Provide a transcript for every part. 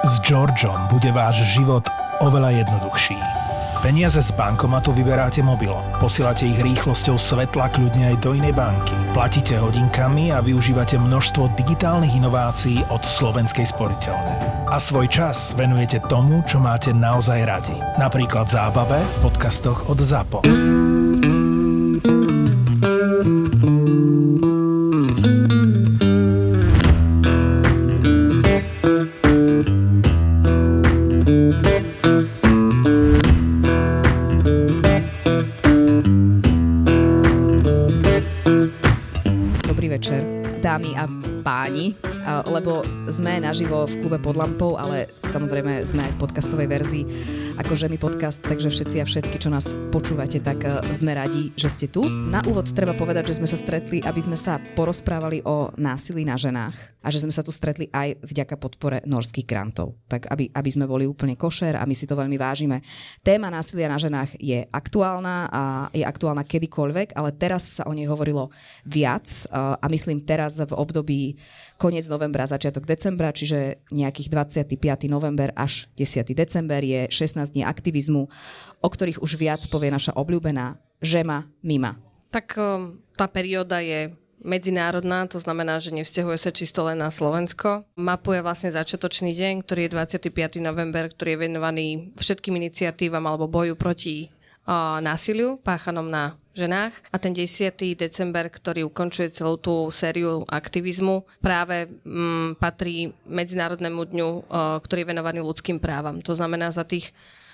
S Georgeom bude váš život oveľa jednoduchší. Peniaze z bankomatu vyberáte mobilom, posielate ich rýchlosťou svetla kľudne aj do inej banky, platíte hodinkami a využívate množstvo digitálnych inovácií od Slovenskej sporiteľne. A svoj čas venujete tomu, čo máte naozaj radi. Napríklad zábave v podcastoch od ZAPO. Dámy a páni, lebo sme naživo v klube Pod lampou, ale samozrejme sme aj v podcastovej verzii ako Žemi podcast, takže všetci a všetky, čo nás počúvate, tak sme radi, že ste tu. Na úvod treba povedať, že sme sa stretli, aby sme sa porozprávali o násilí na ženách a že sme sa tu stretli aj vďaka podpore norských grantov. Tak aby sme boli úplne košer a my si to veľmi vážime. Téma násilia na ženách je aktuálna a je aktuálna kedykoľvek, ale teraz sa o nej hovorilo viac a myslím teraz v období koniec novembra, začiatok decembra, čiže nejakých 25. november až 10. december je 16 dní aktivizmu, o ktorých už viac povie naša obľúbená Žema Mima. Tak tá perióda je medzinárodná, to znamená, že nevzťahuje sa čisto len na Slovensko. Mapuje vlastne začiatočný deň, ktorý je 25. november, ktorý je venovaný všetkým iniciatívam alebo boju proti násiliu páchanom na ženách. A ten 10. december, ktorý ukončuje celú tú sériu aktivizmu, práve patrí Medzinárodnému dňu, ktorý je venovaný ľudským právam. To znamená, za tých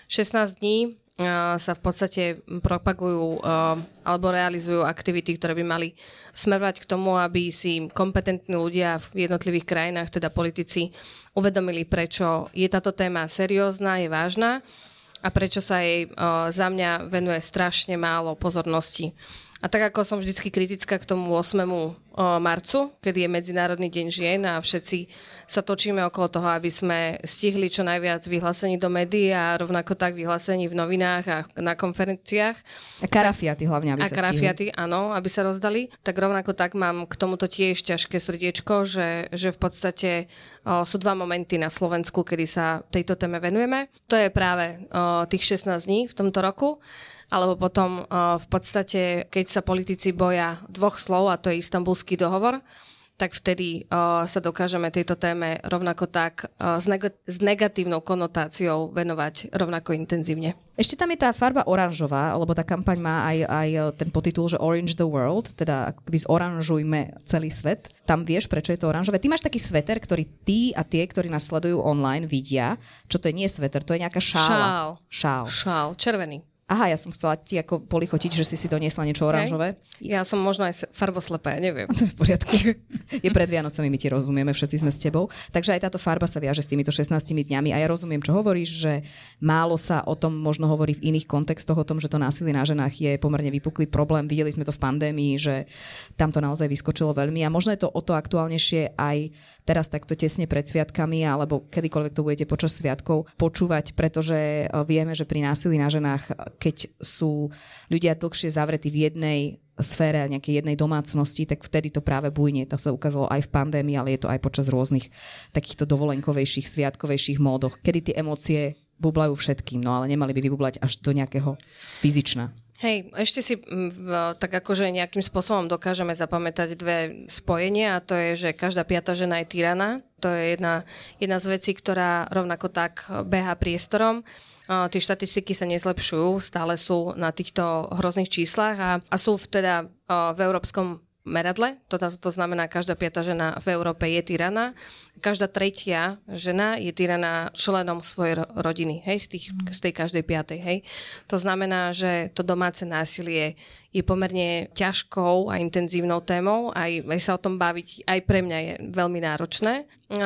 16 dní sa v podstate propagujú alebo realizujú aktivity, ktoré by mali smerovať k tomu, aby si kompetentní ľudia v jednotlivých krajinách, teda politici, uvedomili, prečo je táto téma seriózna, je vážna a prečo sa jej za mňa venuje strašne málo pozornosti. A tak ako som vždycky kritická k tomu 8. marcu, kedy je Medzinárodný deň žien a všetci sa točíme okolo toho, aby sme stihli čo najviac vyhlásení do médií a rovnako tak vyhlásení v novinách a na konferenciách. A karafiaty hlavne, aby sa stihli. A karafiaty, áno, aby sa rozdali. Tak rovnako tak mám k tomuto tiež ťažké srdiečko, že v podstate sú dva momenty na Slovensku, kedy sa tejto téme venujeme. To je práve tých 16 dní v tomto roku. Alebo potom v podstate, keď sa politici boja dvoch slov, a to je Istanbulský dohovor, tak vtedy sa dokážeme tejto téme rovnako tak s negatívnou konotáciou venovať rovnako intenzívne. Ešte tam je tá farba oranžová, lebo tá kampaň má aj ten podtitul, že Orange the World, teda ako keby zoranžujme celý svet. Tam vieš, prečo je to oranžové. Ty máš taký sveter, ktorý ty a tie, ktorí nás sledujú online, vidia. Čo to je? Nie sveter, to je nejaká šála. Šál, červený. Aha, ja som chcela ti ako polichotiť, že si doniesla niečo oranžové. Ja som možno aj farboslepá, neviem. To je v poriadku. Je pred Vianocami, my ti rozumieme, všetci sme s tebou. Takže aj táto farba sa viaže s týmito 16 dňami a ja rozumiem, čo hovoríš, že málo sa o tom možno hovorí v iných kontextoch, o tom, že to násilie na ženách je pomerne vypuklý problém. Videli sme to v pandémii, že tam to naozaj vyskočilo veľmi a možno je to o to aktuálnejšie aj teraz takto tesne pred sviatkami alebo kedykoľvek to budete počas sviatkov počúvať, pretože vieme, že pri násilí na ženách, keď sú ľudia dlhšie zavretí v jednej sfére a nejakej jednej domácnosti, tak vtedy to práve bujne. To sa ukázalo aj v pandémii, ale je to aj počas rôznych takýchto dovolenkovejších, sviatkovejších módoch, kedy tie emócie bublajú všetkým, no ale nemali by vybublať až do nejakého fyzična. Hej, ešte si tak akože nejakým spôsobom dokážeme zapamätať dve spojenia a to je, že každá piata žena je tyrana. To je jedna z vecí, ktorá rovnako tak beha priestorom. Tie štatistiky sa nezlepšujú, stále sú na týchto hrozných číslach a sú teda v európskom meradle. To znamená, každá piata žena v Európe je tyrana. Každá tretia žena je tyraná členom svojej rodiny, hej, z tej každej piatej, hej. To znamená, že to domáce násilie je pomerne ťažkou a intenzívnou témou, aj sa o tom baviť aj pre mňa je veľmi náročné.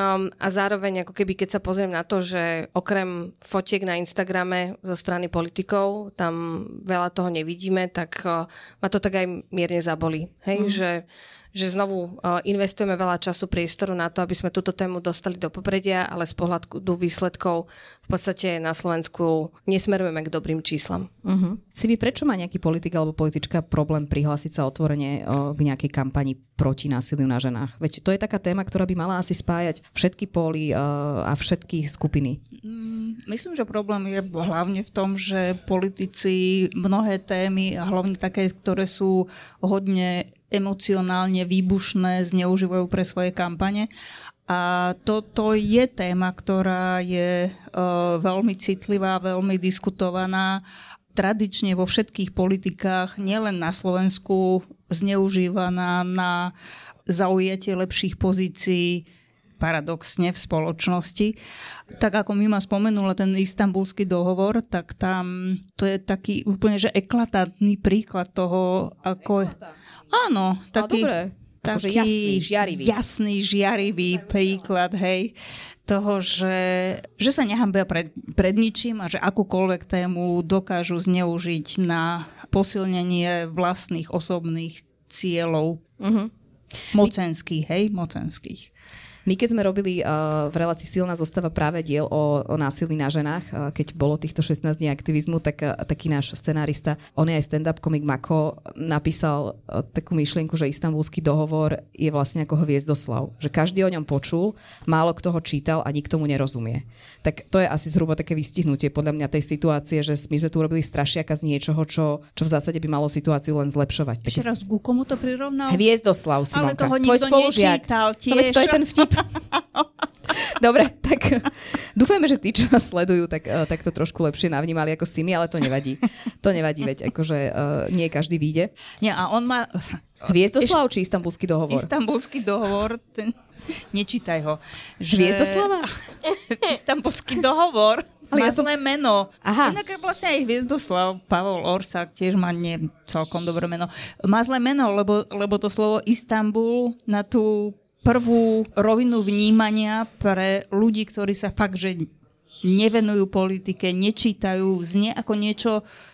A zároveň, ako keby, keď sa pozriem na to, že okrem fotiek na Instagrame zo strany politikov, tam veľa toho nevidíme, tak ma to tak aj mierne zabolí, hej, že že znovu investujeme veľa času, priestoru na to, aby sme túto tému dostali do popredia, ale z pohľadu výsledkov v podstate na Slovensku nesmerujeme k dobrým číslam. Sibi, prečo má nejaký politik alebo politička problém prihlásiť sa otvorene k nejakej kampani proti násiliu na ženách? Veď to je taká téma, ktorá by mala asi spájať všetky póly a všetky skupiny. Myslím, že problém je hlavne v tom, že politici mnohé témy, a hlavne také, ktoré sú hodne emocionálne výbušné, zneužívajú pre svoje kampane. A toto je téma, ktorá je veľmi citlivá, veľmi diskutovaná. Tradične vo všetkých politikách, nielen na Slovensku, zneužívaná na zaujatie lepších pozícií, paradoxne v spoločnosti. Tak ako Mima spomenula ten Istanbulský dohovor, tak tam to je taký úplne že eklatantný príklad toho, ako... Áno, taký jasný, žiarivý príklad, hej, toho, že sa nehambia pred ničím a že akúkoľvek tému dokážu zneužiť na posilnenie vlastných osobných cieľov. Mocenských, hej, mocenských. My keď sme robili v relácii Silná zostava práve diel o násilí na ženách, keď bolo týchto 16 dní aktivizmu, tak taký náš scenárista, on je aj stand-up komik Mako, napísal takú myšlienku, že Istanbulský dohovor je vlastne ako Hviezdoslav. Že každý o ňom počul, málo kto ho čítal a nikto mu nerozumie. Tak to je asi zhruba také vystihnutie podľa mňa tej situácie, že my sme tu urobili strašiaka z niečoho, čo v zásade by malo situáciu len zlepšovať. Ešte raz, ku komu to prirovnal? Hviezdoslav, Simonka. Ale toho nikto nečítal tiež. No veď to je ten vtip. Dobre, tak dúfajme, že tí, čo nás sledujú, tak to trošku lepšie navnímali ako Simi, ale to nevadí. To nevadí, veď akože nie každý vyjde. Nie, a on má... Hviezdoslav či Istanbulský dohovor? Istanbulský dohovor, nečítaj ho. Hviezdoslava? Istanbulský dohovor má zlé meno. Aha. Inak vlastne aj Hviezdoslav, Pavol Orsák tiež má nie celkom dobré meno. Má zlé meno, lebo to slovo Istanbul na tú prvú rovinu vnímania pre ľudí, ktorí sa fakt, že nevenujú politike, nečítajú, znie ako niečo,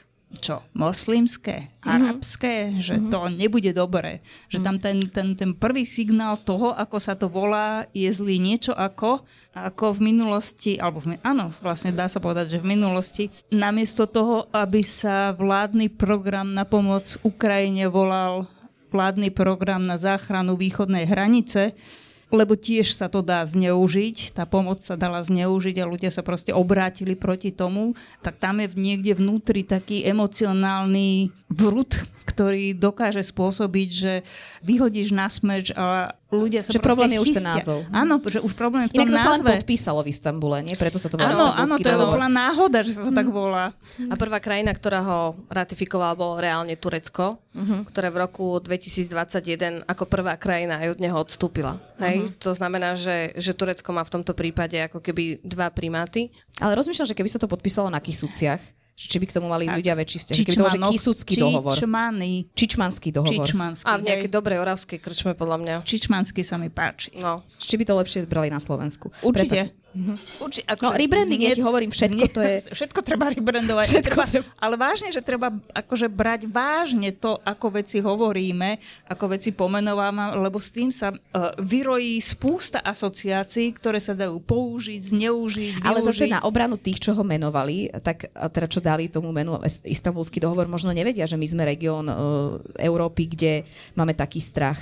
čo, moslimské, arabské, že to nebude dobré. Že tam ten prvý signál toho, ako sa to volá, je zlý. Niečo ako v minulosti, áno, vlastne dá sa povedať, že v minulosti, namiesto toho, aby sa vládny program na pomoc Ukrajine volal vládny program na záchranu východnej hranice, lebo tiež sa to dá zneužiť, tá pomoc sa dala zneužiť a ľudia sa proste obrátili proti tomu, tak tam je niekde vnútri taký emocionálny vrut, ktorý dokáže spôsobiť, že vyhodíš na smeč a ľudia sa že proste problém je chystia. už ten názov. Áno, že už problém je v tom názve. Inak to sa len podpísalo v Istanbule, nie? Preto sa to volá Istanbulský dohovor. Áno, to bola náhoda, že sa to tak volá. A prvá krajina, ktorá ho ratifikovala, bolo reálne Turecko, ktoré v roku 2021 ako prvá krajina aj od neho odstúpila. Hej? To znamená, že Turecko má v tomto prípade ako keby dva primáty. Ale rozmýšľam, že keby sa to podpísalo na Kisuciach, či by k tomu mali ľudia väčší vzťah. Keby to bol, že Kisucký dohovor. Čičmanský dohovor. A v nejakej dobrej oravskej krčme, podľa mňa. Čičmanský sa mi páči. No. Či by to lepšie brali na Slovensku. Určite. No, rebranding, ja ti hovorím, všetko to je... Všetko treba rebrandovať. Ale vážne, že treba akože brať vážne to, ako veci hovoríme, ako veci pomenovaná, lebo s tým sa vyrojí spústa asociácií, ktoré sa dajú použiť, zneužiť, využiť. Ale zase na obranu tých, čo ho menovali, tak teda čo dali tomu menu Istanbulský dohovor, možno nevedia, že my sme región Európy, kde máme taký strach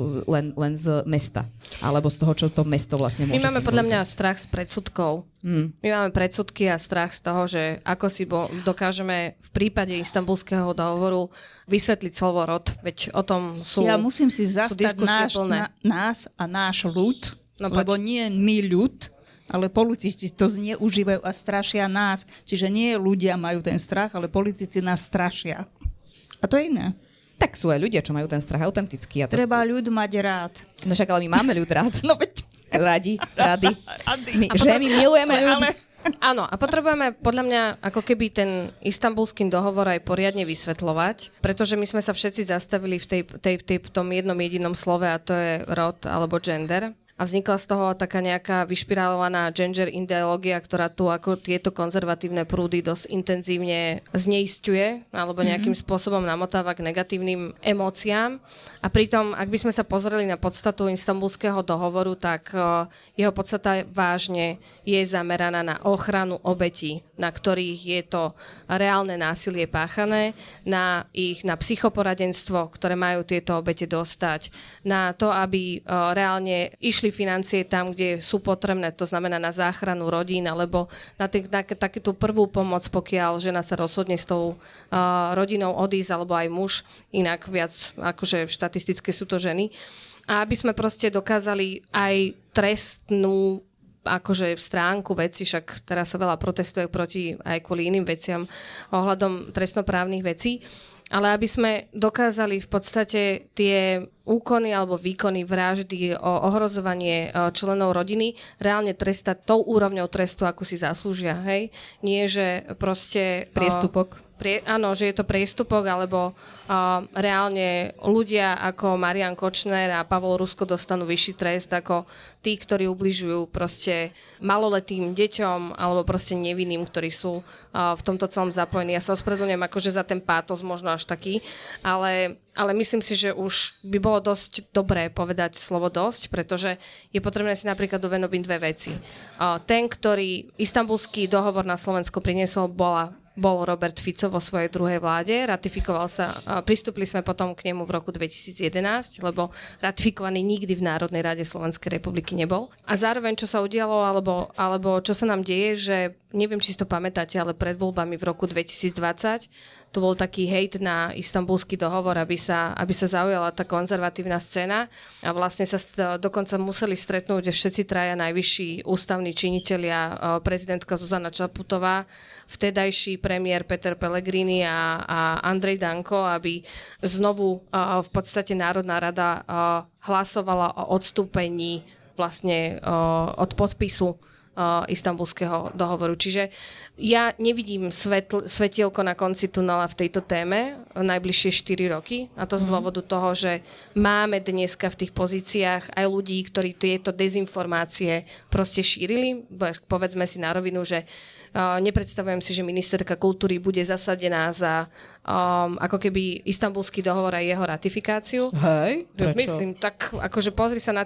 len z mesta. Alebo z toho, čo to mesto vlastne môže. My máme podľa mňa strach z predsudkov. My máme predsudky a strach z toho, že ako si dokážeme v prípade Istanbulského dohovoru vysvetliť slovo rod. Veď o tom sú Ja musím si zastať nás a náš ľud, lebo nie my ľud, ale politici to zneužívajú a strašia nás. Čiže nie ľudia majú ten strach, ale politici nás strašia. A to je iné. Tak sú aj ľudia, čo majú ten strach autentický. Treba ľud mať rád. No však, ale my máme ľud rád. No veď. Radi. My milujeme ľud. Áno, a potrebujeme podľa mňa ako keby ten Istanbulský dohovor aj poriadne vysvetľovať, pretože my sme sa všetci zastavili v tom jednom jedinom slove a to je rod alebo gender. a vznikla z toho taká nejaká vyšpirálovaná gender ideológia, ktorá tu ako tieto konzervatívne prúdy dosť intenzívne zneisťuje alebo nejakým spôsobom namotáva k negatívnym emóciám. A pritom, ak by sme sa pozreli na podstatu Istanbulského dohovoru, tak jeho podstata vážne je zameraná na ochranu obetí, na ktorých je to reálne násilie páchané, na psychoporadenstvo, ktoré majú tieto obete dostať, na to, aby reálne išli financie tam, kde sú potrebné, to znamená na záchranu rodín, alebo na takú prvú pomoc, pokiaľ žena sa rozhodne s tou rodinou odísť, alebo aj muž, inak viac akože štatistické sú to ženy. A aby sme proste dokázali aj trestnú akože stránku veci, však teraz sa veľa protestuje proti aj kvôli iným veciam ohľadom trestnoprávnych vecí, ale aby sme dokázali v podstate tie úkony alebo výkony vraždy, ohrozovanie členov rodiny reálne trestať tou úrovňou trestu, ako si zaslúžia, hej? Nie, že proste... Priestupok. Áno, že je to priestupok, alebo reálne ľudia ako Marian Kočner a Pavol Rusko dostanú vyšší trest ako tí, ktorí ubližujú proste maloletým deťom alebo proste nevinným, ktorí sú v tomto celom zapojení. Ja sa ospravedlňujem akože za ten pátos možno až taký, ale myslím si, že už by bolo dosť dobré povedať slovo dosť, pretože je potrebné si napríklad uvedomiť dve veci. Ten, ktorý Istanbulský dohovor na Slovensko priniesol, bol Robert Fico vo svojej druhej vláde. Ratifikoval sa, pristúpili sme potom k nemu v roku 2011, lebo ratifikovaný nikdy v Národnej rade Slovenskej republiky nebol. A zároveň, čo sa udialo, alebo čo sa nám deje, že neviem, či si to pamätáte, ale pred voľbami v roku 2020 to bol taký hejt na Istanbulský dohovor, aby sa zaujala tá konzervatívna scéna a vlastne sa dokonca museli stretnúť všetci traja najvyšší ústavní činitelia, prezidentka Zuzana Čaputová, vtedajší premiér Peter Pellegrini a Andrej Danko, aby znovu v podstate Národná rada hlasovala o odstúpení vlastne od podpisu Istanbulského dohovoru. Čiže ja nevidím svetielko na konci tunela v tejto téme najbližšie 4 roky a to z dôvodu toho, že máme dneska v tých pozíciách aj ľudí, ktorí tieto dezinformácie proste šírili. Povedzme si na rovinu, že nepredstavujem si, že ministerka kultúry bude zasadená za ako keby Istanbulský dohovor a jeho ratifikáciu. Hej, prečo? Myslím, tak akože pozri sa na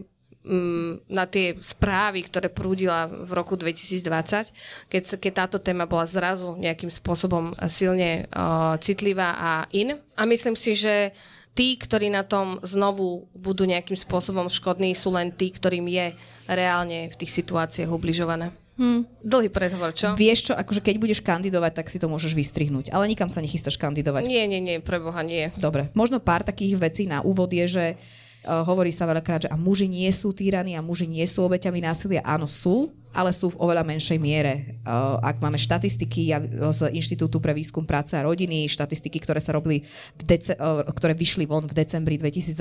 tie správy, ktoré prúdila v roku 2020, keď táto téma bola zrazu nejakým spôsobom silne citlivá a in. A myslím si, že tí, ktorí na tom znovu budú nejakým spôsobom škodní, sú len tí, ktorým je reálne v tých situáciách ubližované. Dlhý predhovor, čo? Vieš čo, akože keď budeš kandidovať, tak si to môžeš vystrihnúť, ale nikam sa nechystáš kandidovať. Nie, preboha nie. Dobre, možno pár takých vecí na úvod je, že hovorí sa veľakrát, že a muži nie sú týraní a muži nie sú obeťami násilia. Áno, sú, ale sú v oveľa menšej miere. Ak máme štatistiky z Inštitútu pre výskum práce a rodiny, štatistiky, ktoré sa robili ktoré vyšli von v decembri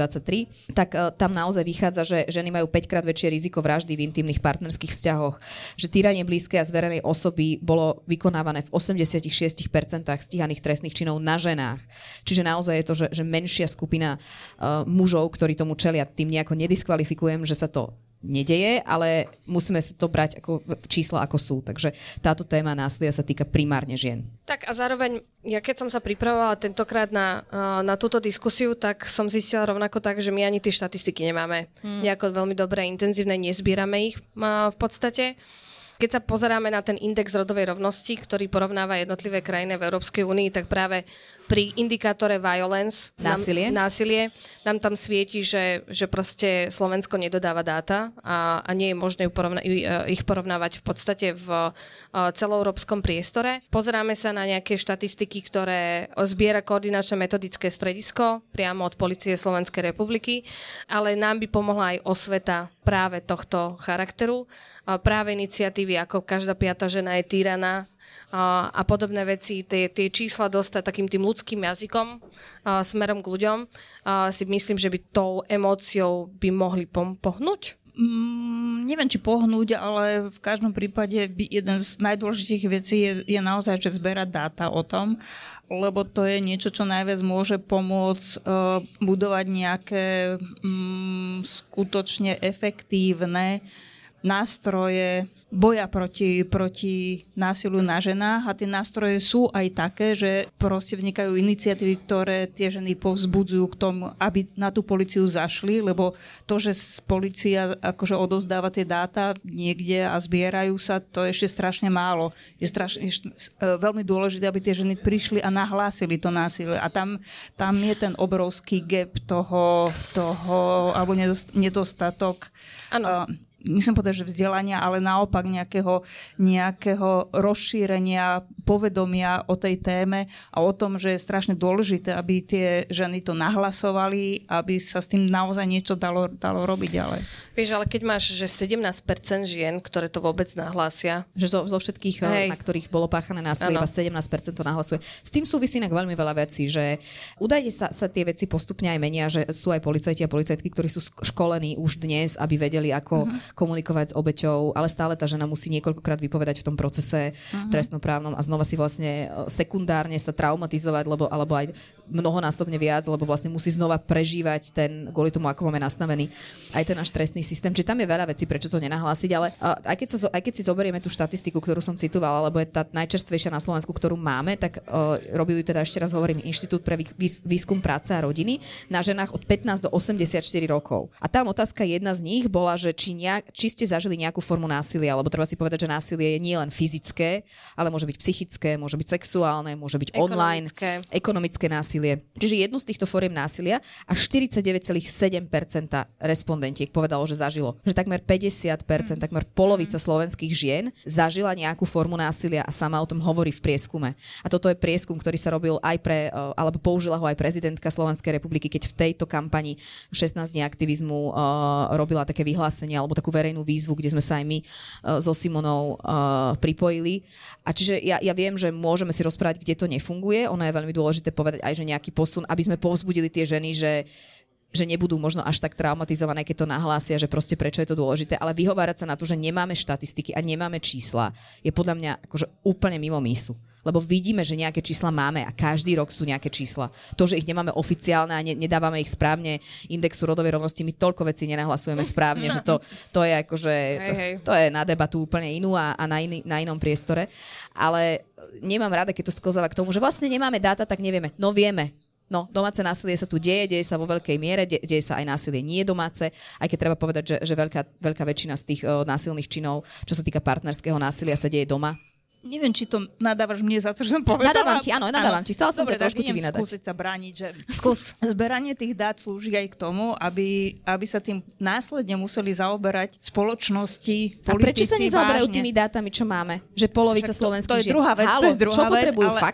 2023, tak tam naozaj vychádza, že ženy majú 5-krát väčšie riziko vraždy v intimných partnerských vzťahoch, že týranie blízkej a zverenej osoby bolo vykonávané v 86% stíhaných trestných činov na ženách. Čiže naozaj je to, že menšia skupina mužov, ktorí tomu čelia, tým nejako nediskvalifikujem, že sa to nedeje, ale musíme si to brať ako čísla, ako sú. Takže táto téma násilia sa týka primárne žien. Tak a zároveň, ja keď som sa pripravovala tentokrát na túto diskusiu, tak som zistila rovnako tak, že my ani tie štatistiky nemáme nejako veľmi dobré, intenzívne, nezbierame ich v podstate. Keď sa pozeráme na ten index rodovej rovnosti, ktorý porovnáva jednotlivé krajiny v Európskej únii, tak práve pri indikátore violence, násilie, nám tam svieti, že proste Slovensko nedodáva dáta a nie je možné ich porovnávať v podstate v celoeurópskom priestore. Pozeráme sa na nejaké štatistiky, ktoré zbiera koordinačné metodické stredisko priamo od Polície Slovenskej republiky, ale nám by pomohla aj osveta práve tohto charakteru, práve iniciatívy, ako každá 5. žena je týraná, a podobné veci, tie čísla dostať takým tým ľudským jazykom smerom k ľuďom, si myslím, že by tou emóciou by mohli pohnúť. Neviem, či pohnúť, ale v každom prípade jeden z najdôležitejších vecí je naozaj, že zberať dáta o tom, lebo to je niečo, čo najviac môže pomôcť budovať nejaké skutočne efektívne nástroje boja proti násiliu na ženách a tie nástroje sú aj také, že proste vznikajú iniciatívy, ktoré tie ženy povzbudzujú k tomu, aby na tú políciu zašli, lebo to, že polícia akože odovzdáva tie dáta niekde a zbierajú sa, to je ešte strašne málo. Je veľmi dôležité, aby tie ženy prišli a nahlásili to násilie a tam je ten obrovský gap toho alebo nedostatok. Áno. Nechcem povedať, že vzdelania, ale naopak nejakého rozšírenia povedomia o tej téme a o tom, že je strašne dôležité, aby tie ženy to nahlasovali, aby sa s tým naozaj niečo dalo robiť ďalej. Vieš, ale keď máš, že 17% žien, ktoré to vôbec nahlásia. Že zo všetkých, na ktorých bolo páchané násilie, iba 17% to nahlasuje. S tým súvisí inak veľmi veľa vecí, že údajne sa tie veci postupne aj menia, že sú aj policajti a policajtky, ktorí sú školení už dnes, aby vedeli, ako komunikovať s obeťou, ale stále tá žena musí niekoľkokrát vypovedať v tom procese trestnoprávnom a znova si vlastne sekundárne sa traumatizovať, alebo aj mnohonásobne viac, lebo vlastne musí znova prežívať kvôli tomu, ako máme nastavený aj ten náš trestný systém. Čiže tam je veľa vecí, prečo to nenahlásiť, ale aj keď si zoberieme tú štatistiku, ktorú som citovala, lebo je tá najčerstvejšia na Slovensku, ktorú máme, tak robili teda, ešte raz hovorím, Inštitút pre výskum práce a rodiny na ženách od 15 do 84 rokov. A tam otázka jedna z nich bola, že či ste zažili nejakú formu násilia, lebo treba si povedať, že násilie je nielen fyzické, ale môže byť psychické, môže byť sexuálne, môže byť online, ekonomické násilie. Čiže jednu z týchto foriem násilia a 49,7% respondentiek povedalo, že zažilo. Že takmer 50%, takmer polovica slovenských žien zažila nejakú formu násilia a sama o tom hovorí v prieskume. A toto je prieskum, ktorý sa robil aj alebo použila ho aj prezidentka Slovenskej republiky, keď v tejto kampani 16 dní aktivizmu robila také vyhlásenie alebo takú verejnú výzvu, kde sme sa aj my so Simonou pripojili. A čiže ja viem, že môžeme si rozprávať, kde to nefunguje. Ono je veľmi dôležité povedať aj, že nejaký posun, aby sme povzbudili tie ženy, že nebudú možno až tak traumatizované, keď to nahlásia, že proste prečo je to dôležité, ale vyhovárať sa na to, že nemáme štatistiky a nemáme čísla, je podľa mňa akože úplne mimo mísu. Lebo vidíme, že nejaké čísla máme a každý rok sú nejaké čísla. To, že ich nemáme oficiálne a nedávame ich správne indexu rodovej rovnosti, my toľko vecí nenahlasujeme správne, že to je akože to je na debatu úplne inú a na inom priestore. Ale nemám rada, keď to sklzáva k tomu, že vlastne nemáme dáta, tak nevieme. No vieme. No, domáce násilie sa tu deje sa vo veľkej miere, deje sa aj násilie nie domáce, aj keď treba povedať, že veľká väčšina z tých násilných činov, čo sa týka partnerského násilia, sa deje doma. Neviem, či to nadávaš mne za to, že som povedala. Nadávam ti. Chcela som ťa trošku ti vynadať. Skúsiť sa brániť, že zberanie tých dát slúži aj k tomu, aby sa tým následne museli zaoberať spoločnosti, politici. A prečo sa nezaoberajú tými dátami, čo máme? Že polovica slovenských žien. To je druhá vec. Čo potrebujú fax?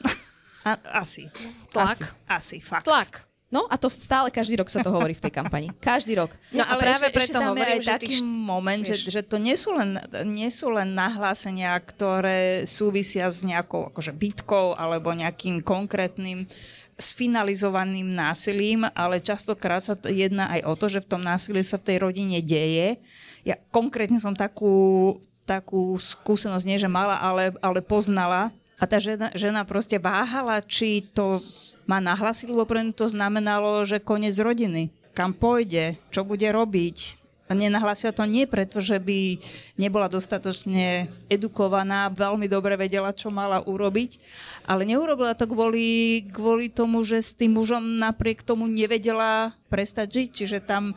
Asi. Asi fax. Tlak. No a to stále každý rok sa to hovorí v tej kampani. Každý rok. No a práve preto hovorím, že taký moment, že to nie sú len nahlásenia, ktoré súvisia s nejakou akože bitkou alebo nejakým konkrétnym sfinalizovaným násilím, ale častokrát sa jedná aj o to, že v tom násilí sa v tej rodine deje. Ja konkrétne som takú skúsenosť nie, že mala, ale poznala. A tá žena proste váhala, či to má nahlásiť, lebo pre to znamenalo, že koniec rodiny. Kam pôjde, čo bude robiť. A nenahlásia to nie preto, že by nebola dostatočne edukovaná, veľmi dobre vedela, čo mala urobiť, ale neurobila to kvôli tomu, že s tým mužom napriek tomu nevedela prestať žiť. Čiže tam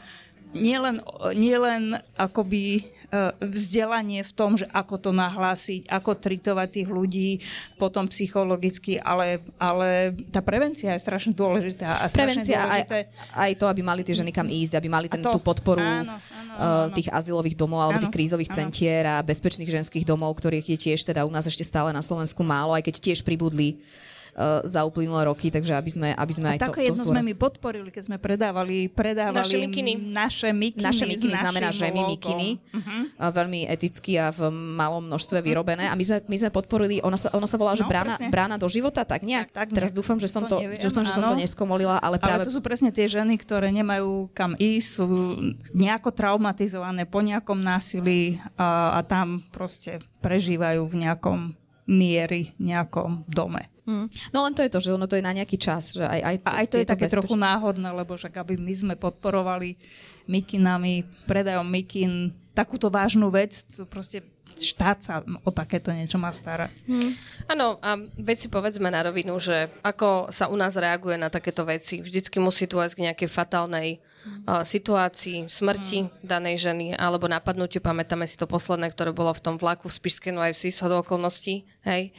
nielen akoby vzdelanie v tom, že ako to nahlásiť, ako tritovať tých ľudí, potom psychologicky, ale tá prevencia je strašne dôležitá. A prevencia aj to, aby mali tie ženy kam ísť, aby mali tú podporu tých azylových domov alebo tých krízových centier a bezpečných ženských domov, ktorých je tiež teda u nás ešte stále na Slovensku málo, aj keď tiež pribudli za uplynulé roky, takže aby sme aj to... Také jedno sme my podporili, keď sme predávali naše mikiny. Naše mikiny znamená žemi mikiny. Veľmi eticky a v malom množstve vyrobené. A my sme podporili, ona sa volá, že brána do života, tak nejak. Tak, teraz dúfam, že som to neskomolila, ale práve... Ale to sú presne tie ženy, ktoré nemajú kam ísť, sú nejako traumatizované po nejakom násilí a tam proste prežívajú v nejakom miery, nejakom dome. No len to je to, že ono to je na nejaký čas. Že aj to je také trochu náhodné, lebo však aby my sme podporovali mikinami, predajom mikin, takúto vážnu vec, to proste štát sa o takéto niečo má starať. Áno, a veď si povedzme na rovinu, že ako sa u nás reaguje na takéto veci. Vždycky musí dôjsť k nejakej fatálnej situácii, smrti danej ženy alebo napadnutiu. Pamätáme si to posledné, ktoré bolo v tom vlaku v Spišskej Novej Vsi z okolností, hej?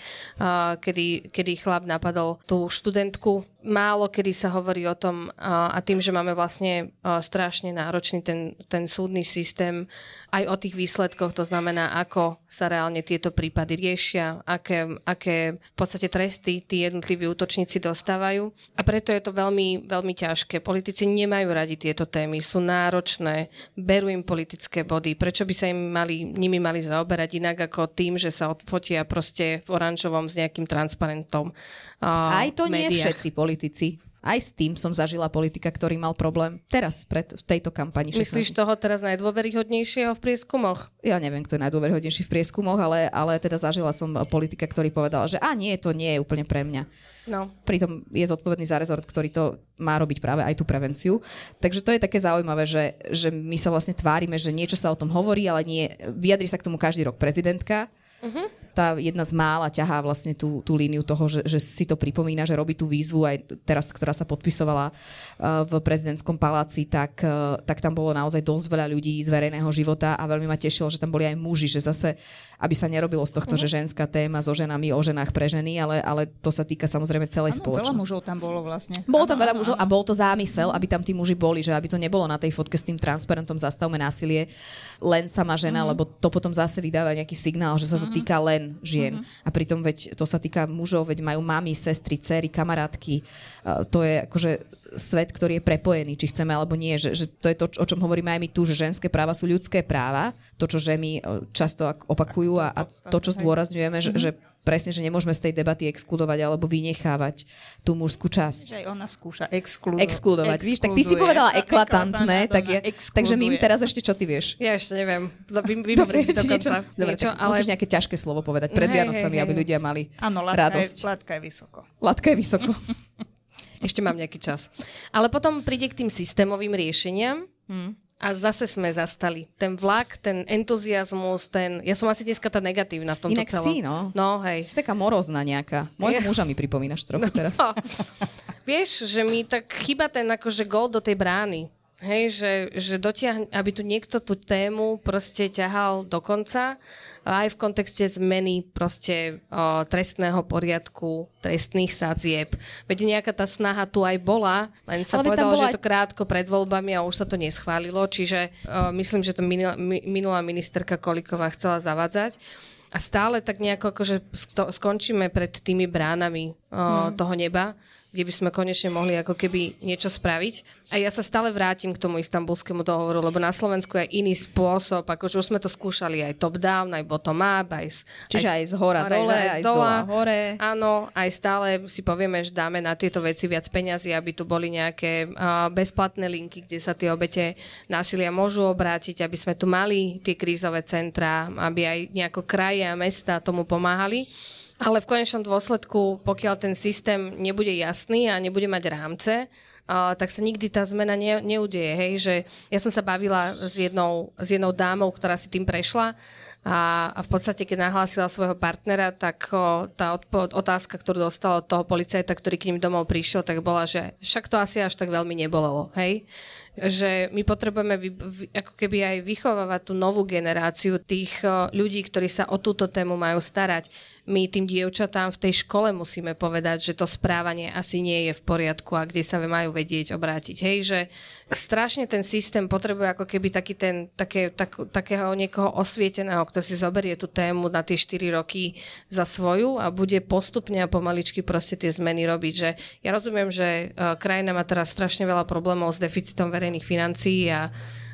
Kedy chlap napadol tú študentku. Málo kedy sa hovorí o tom a tým, že máme vlastne strašne náročný ten súdny systém aj o tých výsledkoch, to znamená, ako sa reálne tieto prípady riešia, aké v podstate tresty tí jednotliví útočníci dostávajú. A preto je to veľmi, veľmi ťažké. Politici nemajú radi tieto témy, sú náročné, berú im politické body. Prečo by sa nimi mali zaoberať inak ako tým, že sa odfotia proste v oranžovom s nejakým transparentom Aj to nie médiách. všetci politici. Aj s tým som zažila politika, ktorý mal problém teraz v tejto kampani. Myslíš toho teraz najdôveryhodnejšieho v prieskumoch? Ja neviem, kto je najdôveryhodnejší v prieskumoch, ale teda zažila som politika, ktorý povedal, že nie, to nie je úplne pre mňa. No. Pritom je zodpovedný za rezort, ktorý to má robiť práve aj tú prevenciu. Takže to je také zaujímavé, že my sa vlastne tvárime, že niečo sa o tom hovorí, ale nie, vyjadri sa k tomu každý rok prezidentka. Tá jedna z mála ťahá vlastne tú líniu toho, že si to pripomína, že robí tú výzvu aj teraz, ktorá sa podpisovala v prezidentskom paláci, tak tam bolo naozaj dosť veľa ľudí z verejného života a veľmi ma tešilo, že tam boli aj muži, že zase, aby sa nerobilo z tohto, že ženská téma so ženami, o ženách pre ženy, ale to sa týka samozrejme celej spoločnosti. Veľa mužov tam bolo vlastne. Bolo tam veľa mužov a bol to zámysel, aby tam tí muži boli, že aby to nebolo na tej fotke s tým transparentom Zastavme násilie len sama žena, lebo to potom zase vydáva nejaký signál, že sa to týka len žien. A pritom veď to sa týka mužov, veď majú mami, sestry, dcery, kamarátky. To je akože svet, ktorý je prepojený, či chceme alebo nie. Že to je to, o čom hovoríme aj my tu, že ženské práva sú ľudské práva. To, čo ženy často opakujú a to, čo zdôrazňujeme, že presne, že nemôžeme z tej debaty exkludovať alebo vynechávať tú mužskú časť. Aj ona skúša exkludovať. Víš, tak ty si povedala eklatantné, takže my im teraz ešte čo ty vieš? Ja ešte neviem. Vymrieť dokonca. Dobre, musíš nejaké ťažké slovo povedať pred Vianocami, aby ľudia mali radosť. Latka je vysoko. Latka je vysoko. Ešte mám nejaký čas. Ale potom príde k tým systémovým riešeniam a zase sme zastali. Ten vlak, ten entuziasmus, ja som asi dneska tá negatívna v tomto celom. Inak si, no. No, hej. Si taká morozná nejaká. Mojho muža mi pripomínaš trochu teraz. Vieš, že mi tak chýba ten akože gól do tej brány. Hej, že dotiahne, aby tu niekto tú tému proste ťahal do konca, aj v kontexte zmeny proste trestného poriadku, trestných sadzieb. Veď nejaká tá snaha tu aj bola, len sa povedalo, že je to krátko pred voľbami a už sa to neschválilo, čiže myslím, že to minulá ministerka Kolíková chcela zavádzať. A stále tak nejako akože skončíme pred tými bránami toho neba, kde by sme konečne mohli ako keby niečo spraviť. A ja sa stále vrátim k tomu Istanbulskému dohovoru, lebo na Slovensku je iný spôsob, akože už sme to skúšali aj top-down, aj bottom-up, čiže aj z hora dole, aj z dola hore. Áno, aj stále si povieme, že dáme na tieto veci viac peňazí, aby tu boli nejaké bezplatné linky, kde sa tie obete násilia môžu obrátiť, aby sme tu mali tie krízové centrá, aby aj nejako kraje a mesta tomu pomáhali. Ale v konečnom dôsledku, pokiaľ ten systém nebude jasný a nebude mať rámce, tak sa nikdy tá zmena neudeje. Hej? Že ja som sa bavila s jednou dámou, ktorá si tým prešla a v podstate, keď nahlásila svojho partnera, tak tá otázka, ktorú dostala od toho policajta, ktorý k ním domov prišiel, tak bola, že však to asi až tak veľmi nebolelo. Hej? že my potrebujeme ako keby aj vychovávať tú novú generáciu tých ľudí, ktorí sa o túto tému majú starať. My tým dievčatám v tej škole musíme povedať, že to správanie asi nie je v poriadku a kde sa majú vedieť obrátiť. Hej, že strašne ten systém potrebuje ako keby takého niekoho osvieteného, kto si zoberie tú tému na tie 4 roky za svoju a bude postupne a pomaličky proste tie zmeny robiť. Že ja rozumiem, že krajina má teraz strašne veľa problémov s deficitom verejných financií a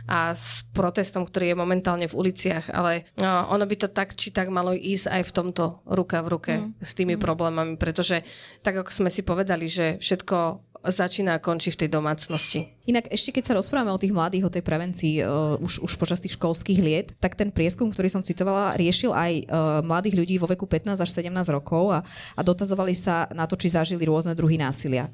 s protestom, ktorý je momentálne v uliciach, ale ono by to tak či tak malo ísť aj v tomto ruka v ruke s tými problémami, pretože tak ako sme si povedali, že všetko začína a končí v tej domácnosti. Inak ešte keď sa rozprávame o tých mladých, o tej prevencii už počas tých školských liet, tak ten prieskum, ktorý som citovala, riešil aj mladých ľudí vo veku 15 až 17 rokov a dotazovali sa na to, či zažili rôzne druhy násilia.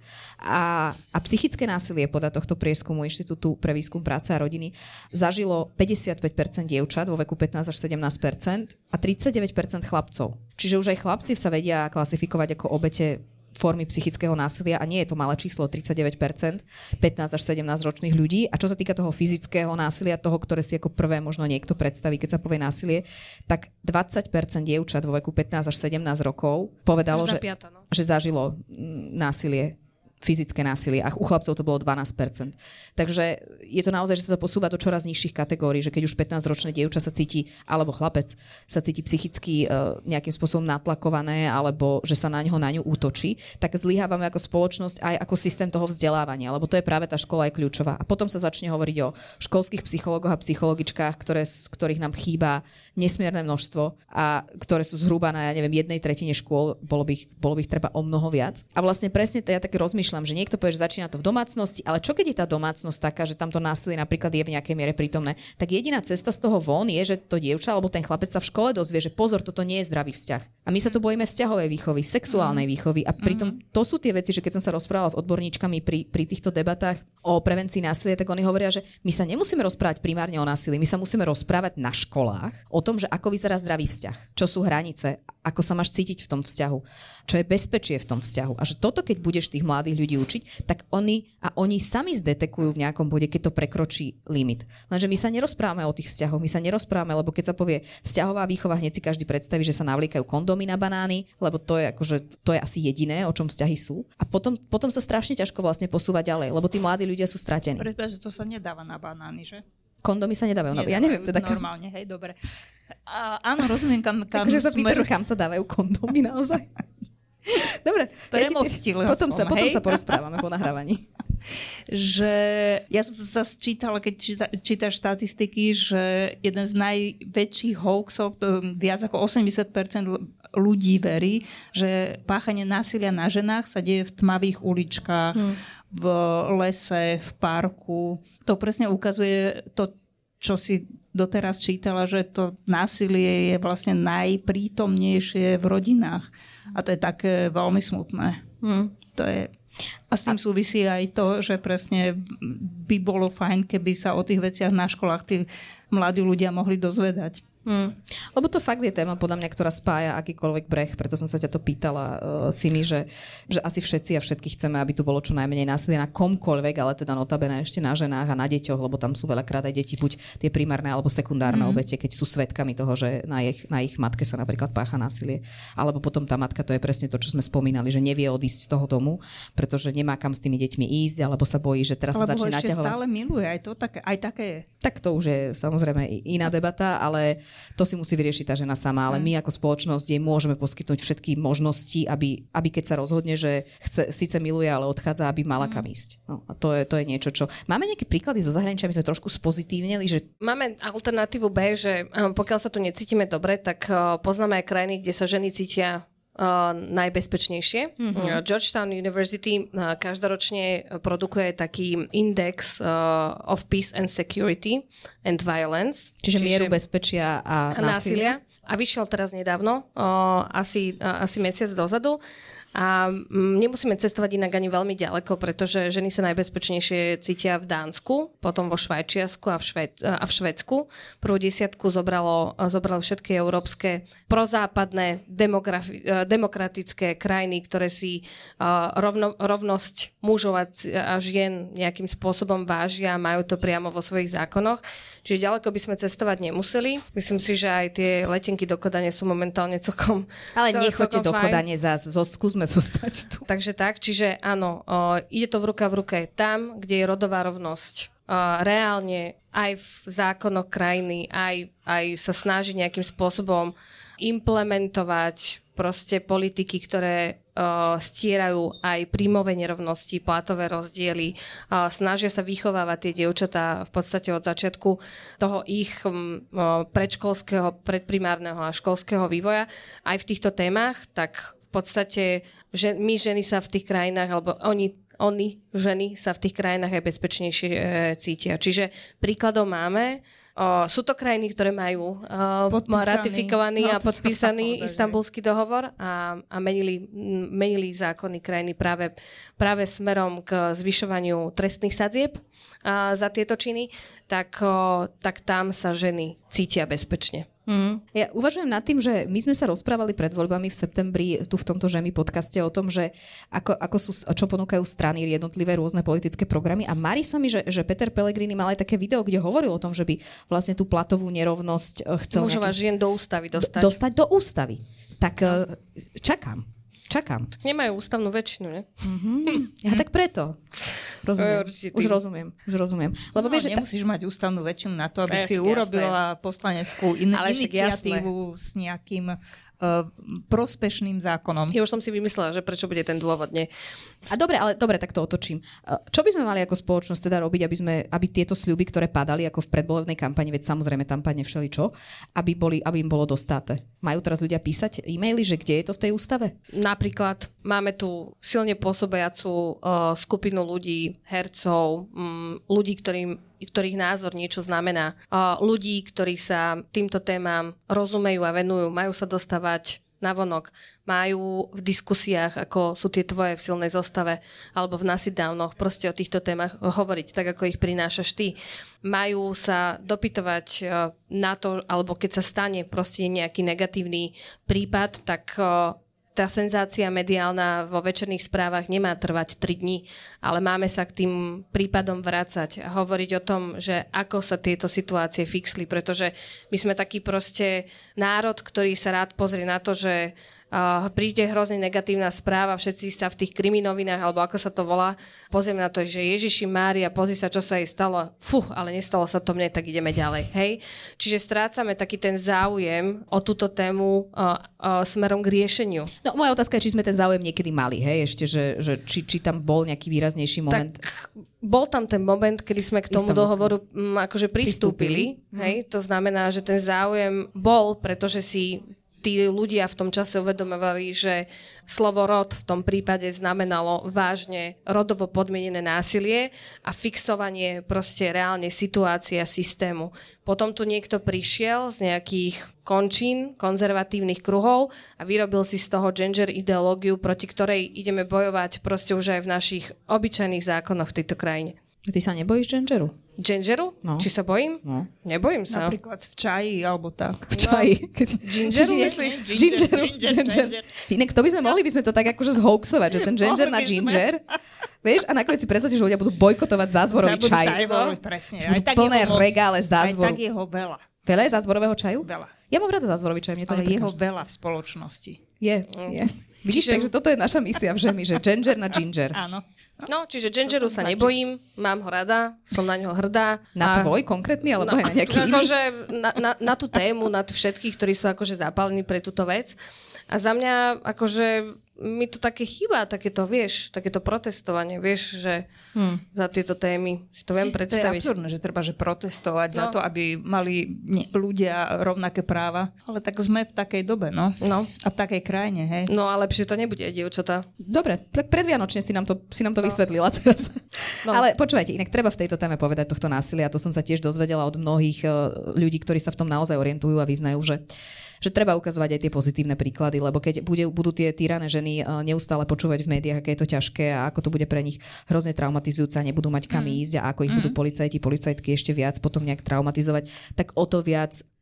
A psychické násilie podľa tohto prieskumu Inštitútu pre výskum práce a rodiny zažilo 55% dievčat vo veku 15 až 17% a 39% chlapcov. Čiže už aj chlapci sa vedia klasifikovať ako obete formy psychického násilia a nie je to malé číslo, 39%, 15 až 17 ročných ľudí. A čo sa týka toho fyzického násilia, toho, ktoré si ako prvé možno niekto predstaví, keď sa povie násilie, tak 20% dievčat vo veku 15 až 17 rokov povedalo, že zažilo násilie, fyzické násilie a u chlapcov to bolo 12%. Takže je to naozaj, že sa to posúva do čoraz nižších kategórií, že keď už 15-ročné dievča sa cíti, alebo chlapec sa cíti psychicky nejakým spôsobom natlakované, alebo že sa na ňu útočí, tak zlyhávame ako spoločnosť aj ako systém toho vzdelávania, lebo to je práve tá škola je kľúčová. A potom sa začne hovoriť o školských psychológoch a psychologičkách, ktorých nám chýba nesmierne množstvo a ktoré sú zhruba na, jednej tretine škôl, bolo by ich treba o mnoho viac. A vlastne presne to ja tak rozmýšľam, že niekto povie, že začína to v domácnosti, ale čo keď je tá domácnosť taká, že tamto násilie napríklad je v nejakej miere prítomné, tak jediná cesta z toho von je, že to dievča alebo ten chlapec sa v škole dozvie, že pozor, toto nie je zdravý vzťah. A my sa tu bojíme vzťahovej výchovy, sexuálnej výchovy a pritom to sú tie veci, že keď som sa rozprávala s odborníčkami pri týchto debatách o prevencii násilia, tak oni hovoria, že my sa nemusíme rozprávať primárne o násilí, my sa musíme rozprávať na školách o tom, že ako vyzerá zdravý vzťah, čo sú hranice, ako sa máš cítiť v tom vzťahu, čo je bezpečie v tom vzťahu. A že toto, keď budeš tých mladých ľudí učiť, tak oni sami zdetekujú v nejakom bode, keď to prekročí limit. Lenže my sa nerozprávame o tých vzťahoch, my sa nerozprávame, lebo keď sa povie vzťahová výchova, hneď si každý predstaví, že sa navliekajú kondómy na banány, lebo to je asi jediné, o čom vzťahy sú. A potom sa strašne ťažko vlastne posúva ďalej, lebo tí mladí ľudia sú stratení. Pretože to sa nedáva na banány, že? Kondomy sa nedávajú. Ja neviem teda normálne, hej, dobre. Áno, rozumiem, kam takže sa pýtaš, kam sa dávajú kondómy naozaj. Dobre. Potom sa porozprávame po nahrávaní. Že ja som sa čítala, keď čítaš štatistiky, že jeden z najväčších hoaxov, viac ako 80% ľudí verí, že páchanie násilia na ženách sa deje v tmavých uličkách, v lese, v parku. To presne ukazuje to, čo si doteraz čítala, že to násilie je vlastne najprítomnejšie v rodinách. A to je také veľmi smutné. To je... A s tým súvisí aj to, že presne by bolo fajn, keby sa o tých veciach na školách tí mladí ľudia mohli dozvedať. Lebo to fakt je téma, podľa mňa, ktorá spája akýkoľvek breh, preto som sa ťa to pýtala, Simi, že asi všetci a všetky chceme, aby tu bolo čo najmenej násilia na komkoľvek, ale teda notabene ešte na ženách a na deťoch, lebo tam sú veľakrát aj deti, buď tie primárne alebo sekundárne obete, keď sú svedkami toho, že na ich matke sa napríklad pácha násilie. Alebo potom tá matka, to je presne to, čo sme spomínali, že nevie odísť z toho domu, pretože nemá kam s tými deťmi ísť, alebo sa bojí, že teraz sa začne naťahovať. Alebo ho ešte stále miluje, aj také je. Tak to už je samozrejme iná debata, ale to si musí vyriešiť tá žena sama, ale my ako spoločnosť jej môžeme poskytnúť všetky možnosti, aby keď sa rozhodne, že síce miluje, ale odchádza, aby mala kam ísť. No, a to je niečo, čo... Máme nejaké príklady zo zahraničia, my sme trošku spozitívnili, že... Máme alternatívu B, že pokiaľ sa tu necítime dobre, tak poznáme aj krajiny, kde sa ženy cítia najbezpečnejšie. Georgetown University každoročne produkuje taký index of peace and security and violence. Čiže mieru bezpečia a násilia. A vyšiel teraz nedávno, asi mesiac dozadu. A nemusíme cestovať inak ani veľmi ďaleko, pretože ženy sa najbezpečnejšie cítia v Dánsku, potom vo Švajčiarsku a v Švédsku. Prvú 10 zobralo všetky európske prozápadné demokratické krajiny, ktoré si rovnosť mužov a žien nejakým spôsobom vážia a majú to priamo vo svojich zákonoch. Čiže ďaleko by sme cestovať nemuseli. Myslím si, že aj tie letenky do Kodane sú momentálne celkom Ale nechoďte do Kodane zás, skúsme zostať tu. Takže tak, čiže áno, ide to v ruke tam, kde je rodová rovnosť. Reálne aj v zákonoch krajiny, aj sa snaží nejakým spôsobom implementovať proste politiky, ktoré stierajú aj príjmové nerovnosti, platové rozdiely, snažia sa vychovávať tie dievčatá v podstate od začiatku toho ich predškolského, predprimárneho a školského vývoja aj v týchto témach, tak v podstate že my ženy sa v tých krajinách, alebo oni, ženy, sa v tých krajinách aj bezpečnejšie cítia. Čiže príkladov máme. Sú to krajiny, ktoré majú ratifikovaný a podpísaný Istanbulský dohovor a menili zákony krajiny práve smerom k zvyšovaniu trestných sadzieb za tieto činy, tak tam sa ženy cítia bezpečne. Ja uvažujem nad tým, že my sme sa rozprávali pred voľbami v septembri tu v tomto Žemi podcaste o tom, že čo ponúkajú strany jednotlivé rôzne politické programy a marí sa mi, že Peter Pellegrini mal aj také video, kde hovoril o tom, že by vlastne tú platovú nerovnosť chcel mužov a žien do ústavy dostať. Dostať do ústavy. Tak čakám. Nemajú ústavnú väčšinu, ne? Ja tak preto. Už rozumiem. Lebo vieš, nemusíš mať ústavnú väčšinu na to, aby si urobila poslaneckú iniciatívu s nejakým prospešným zákonom. Ja už som si vymyslela, že prečo bude ten dôvod, nie? A dobre, tak to otočím. Čo by sme mali ako spoločnosť teda robiť, aby tieto sľuby, ktoré padali ako v predvolebnej kampani, veď samozrejme tam padne všeličo, aby im bolo dostáte? Majú teraz ľudia písať e-maily, že kde je to v tej ústave? Napríklad máme tu silne pôsobiacu skupinu ľudí, hercov, ľudí, ktorých názor niečo znamená. Ľudí, ktorí sa týmto témam rozumejú a venujú, majú sa dostávať navonok, majú v diskusiách, ako sú tie tvoje v silnej zostave, alebo v nasidávnoch, proste o týchto témach hovoriť, tak ako ich prinášaš ty. Majú sa dopytovať na to, alebo keď sa stane proste nejaký negatívny prípad, tak tá senzácia mediálna vo večerných správach nemá trvať 3 dní, ale máme sa k tým prípadom vrácať a hovoriť o tom, že ako sa tieto situácie fixli, pretože my sme taký proste národ, ktorý sa rád pozrie na to, že príde hrozne negatívna správa, všetci sa v tých kriminovinách, alebo ako sa to volá, pozrieme na to, že Ježiši Mária, pozri sa, čo sa jej stalo. Ale nestalo sa to mne, tak ideme ďalej. Hej? Čiže strácame taký ten záujem o túto tému smerom k riešeniu. No moja otázka je, či sme ten záujem niekedy mali, hej? Ešte, že či tam bol nejaký výraznejší moment. Tak bol tam ten moment, kedy sme k tomu dohovoru akože pristúpili. Hej? To znamená, že ten záujem bol, pretože si tí ľudia v tom čase uvedomovali, že slovo rod v tom prípade znamenalo vážne rodovo podmienené násilie a fixovanie proste reálne situácie a systému. Potom tu niekto prišiel z nejakých končín, konzervatívnych kruhov a vyrobil si z toho gender ideológiu, proti ktorej ideme bojovať proste už aj v našich obyčajných zákonoch v tejto krajine. Ty sa nebojíš gingeru? Gingeru? No. Či sa bojím? No. Nebojím sa. Napríklad v čaji, alebo tak. V čaji. Gingeru myslíš? Ginger. Inak to mohli by sme to tak akože zhoaxovať, že ten ginger na ginger. Vieš, a nakoniec si predstavte, že ľudia budú bojkotovať zázvorový čaj. Presne. Budú plné regále zázvoru. Aj tak jeho veľa. Veľa je zázvorového čaju? Veľa. Ja mám rada zázvorový čaj, mne to neprekáža. Ale jeho veľa v spoločnosti. Je. Vidíš, takže toto je naša misia v Žemi, že ginger na ginger. Áno. No, čiže gingeru sa nebojím, mám ho rada, som na ňo hrdá. Na tvoj konkrétny, alebo aj na nejaký iný? Akože na tú tému, na všetkých, ktorí sú akože zapálení pre túto vec. A za mňa akože mi tu také chýba, takéto protestovanie, vieš, že za tieto témy si to viem predstaviť. To je absurdné, že treba protestovať za to, aby mali ľudia rovnaké práva. Ale tak sme v takej dobe, no. A v takej krajine, hej. No a lepšie to nebude, dievčatá. Dobre, tak predvianočne si nám to vysvetlila teraz. No. Ale počúvajte, inak treba v tejto téme povedať tohto násilia. To som sa tiež dozvedela od mnohých ľudí, ktorí sa v tom naozaj orientujú a vyznajú, že treba ukazovať aj tie pozitívne príklady, lebo keď budú tie týrané ženy neustále počúvať v médiách, aké je to ťažké a ako to bude pre nich hrozne traumatizujúce a nebudú mať kam ísť a ako ich budú policajtky ešte viac potom nejak traumatizovať, tak o to viac